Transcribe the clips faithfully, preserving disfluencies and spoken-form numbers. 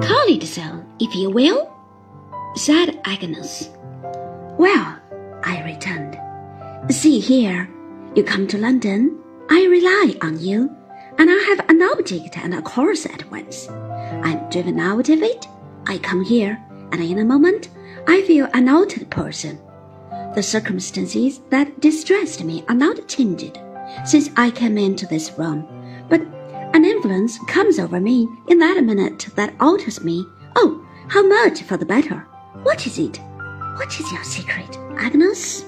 Call it so, if you will, said Agnes. Well, I returned, see here, you come to London, I rely on you, and I have an object and a course at once. I'm driven out of it, I come here, and in a moment, I feel an altered person. The circumstances that distressed me are not changed since I came into this room, but an influence comes over me in that minute that alters me. Oh, how much for the better! What is it? What is your secret, Agnes?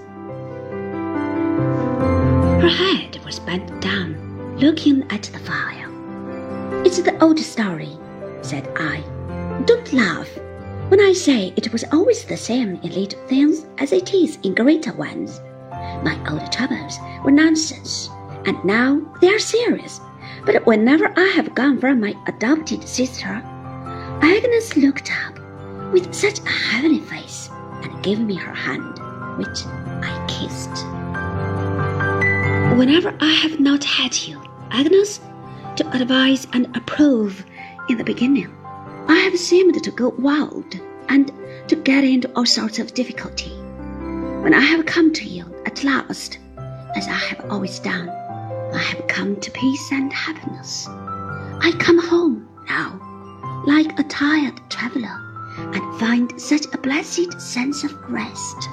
Her head was bent down, looking at the fire. It's the old story, said I. Don't laugh when I say it was always the same in little things as it is in greater ones. My old troubles were nonsense, and now they are serious. But whenever I have gone from my adopted sister, Agnes looked up with such a heavenly face and gave me her hand, which I kissed. Whenever I have not had you, Agnes, to advise and approve in the beginning, I have seemed to go wild and to get into all sorts of difficulty. When I have come to you at last, as I have always done, I have come to peace and happiness. I come home now, like a tired traveler, and find such a blessed sense of rest.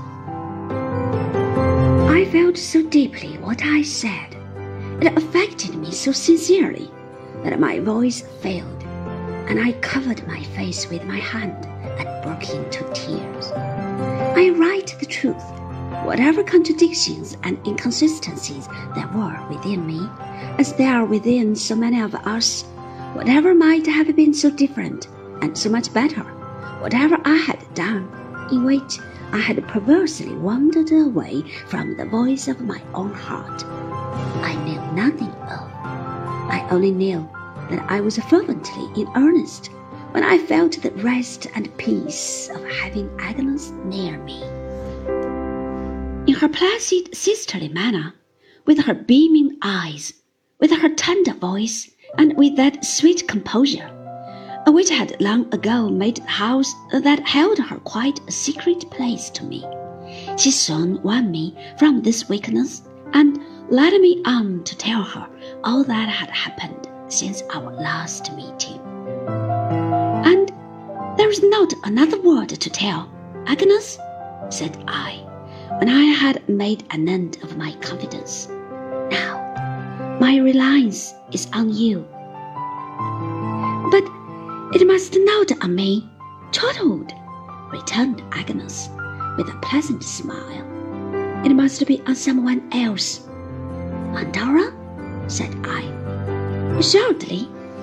I felt so deeply what I said, it affected me so sincerely that my voice failed, and I covered my face with my hand and broke into tears. I write the truth. Whatever contradictions and inconsistencies there were within me, as there are within so many of us, whatever might have been so different and so much better, whatever I had done, in which I had perversely wandered away from the voice of my own heart, I knew nothing of. I only knew that I was fervently in earnest when I felt the rest and peace of having Agnes near me. In her placid sisterly manner, with her beaming eyes, with her tender voice, and with that sweet composure, which had long ago made the house that held her quite a secret place to me, she soon won me from this weakness and led me on to tell her all that had happened since our last meeting. And there is not another word to tell, Agnes, said I, when I had made an end of my confidence. Now, my reliance is on you. But it must not on me, Trotwood, returned Agnes, with a pleasant smile. It must be on someone else. On Dora? Said I. Assuredly.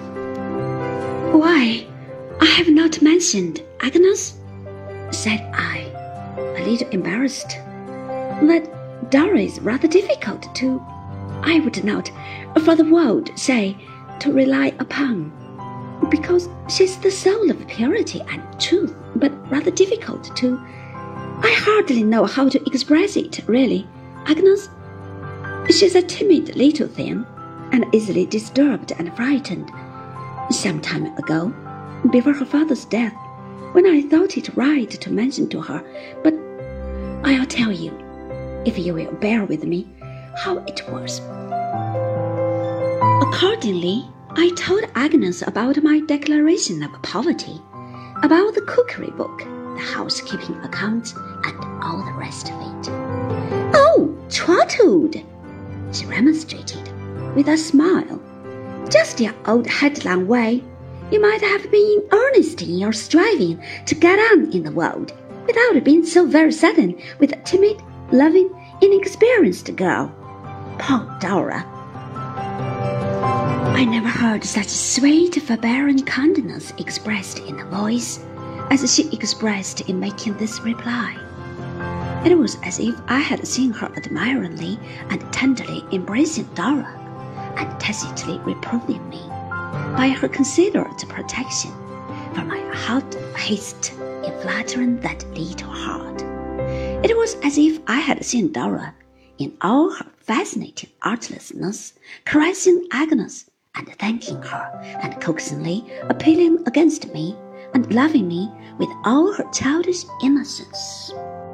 Why, I have not mentioned, Agnes, said I, a little embarrassed, that Dora is rather difficult to, I would not, for the world, say, to rely upon, because she's the soul of purity and truth, but rather difficult to, I hardly know how to express it, really, Agnes. She's a timid little thing, and easily disturbed and frightened. Some time ago, before her father's death, when I thought it right to mention to her, but I'll tell you, if you will bear with me, how it was. Accordingly, I told Agnes about my declaration of poverty, about the cookery book, the housekeeping accounts, and all the rest of it. Oh, Trotwood, she remonstrated, with a smile. Just your old headlong way. You might have been in earnest in your striving to get on in the world, without being so very sudden with a timid, loving, inexperienced girl. Poor Dora. I never heard such sweet, forbearing kindness expressed in a voice as she expressed in making this reply. It was as if I had seen her admiringly and tenderly embracing Dora, and tacitly reproving me by her considerate protection for my hot haste in flattering that little heart. It was as if I had seen Dora, in all her fascinating artlessness, caressing Agnes and thanking her, and coaxingly appealing against me and loving me with all her childish innocence.